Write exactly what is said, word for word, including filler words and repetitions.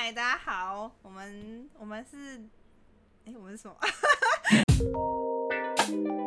嗨，大家好，我们我们是，哎，我们是什么？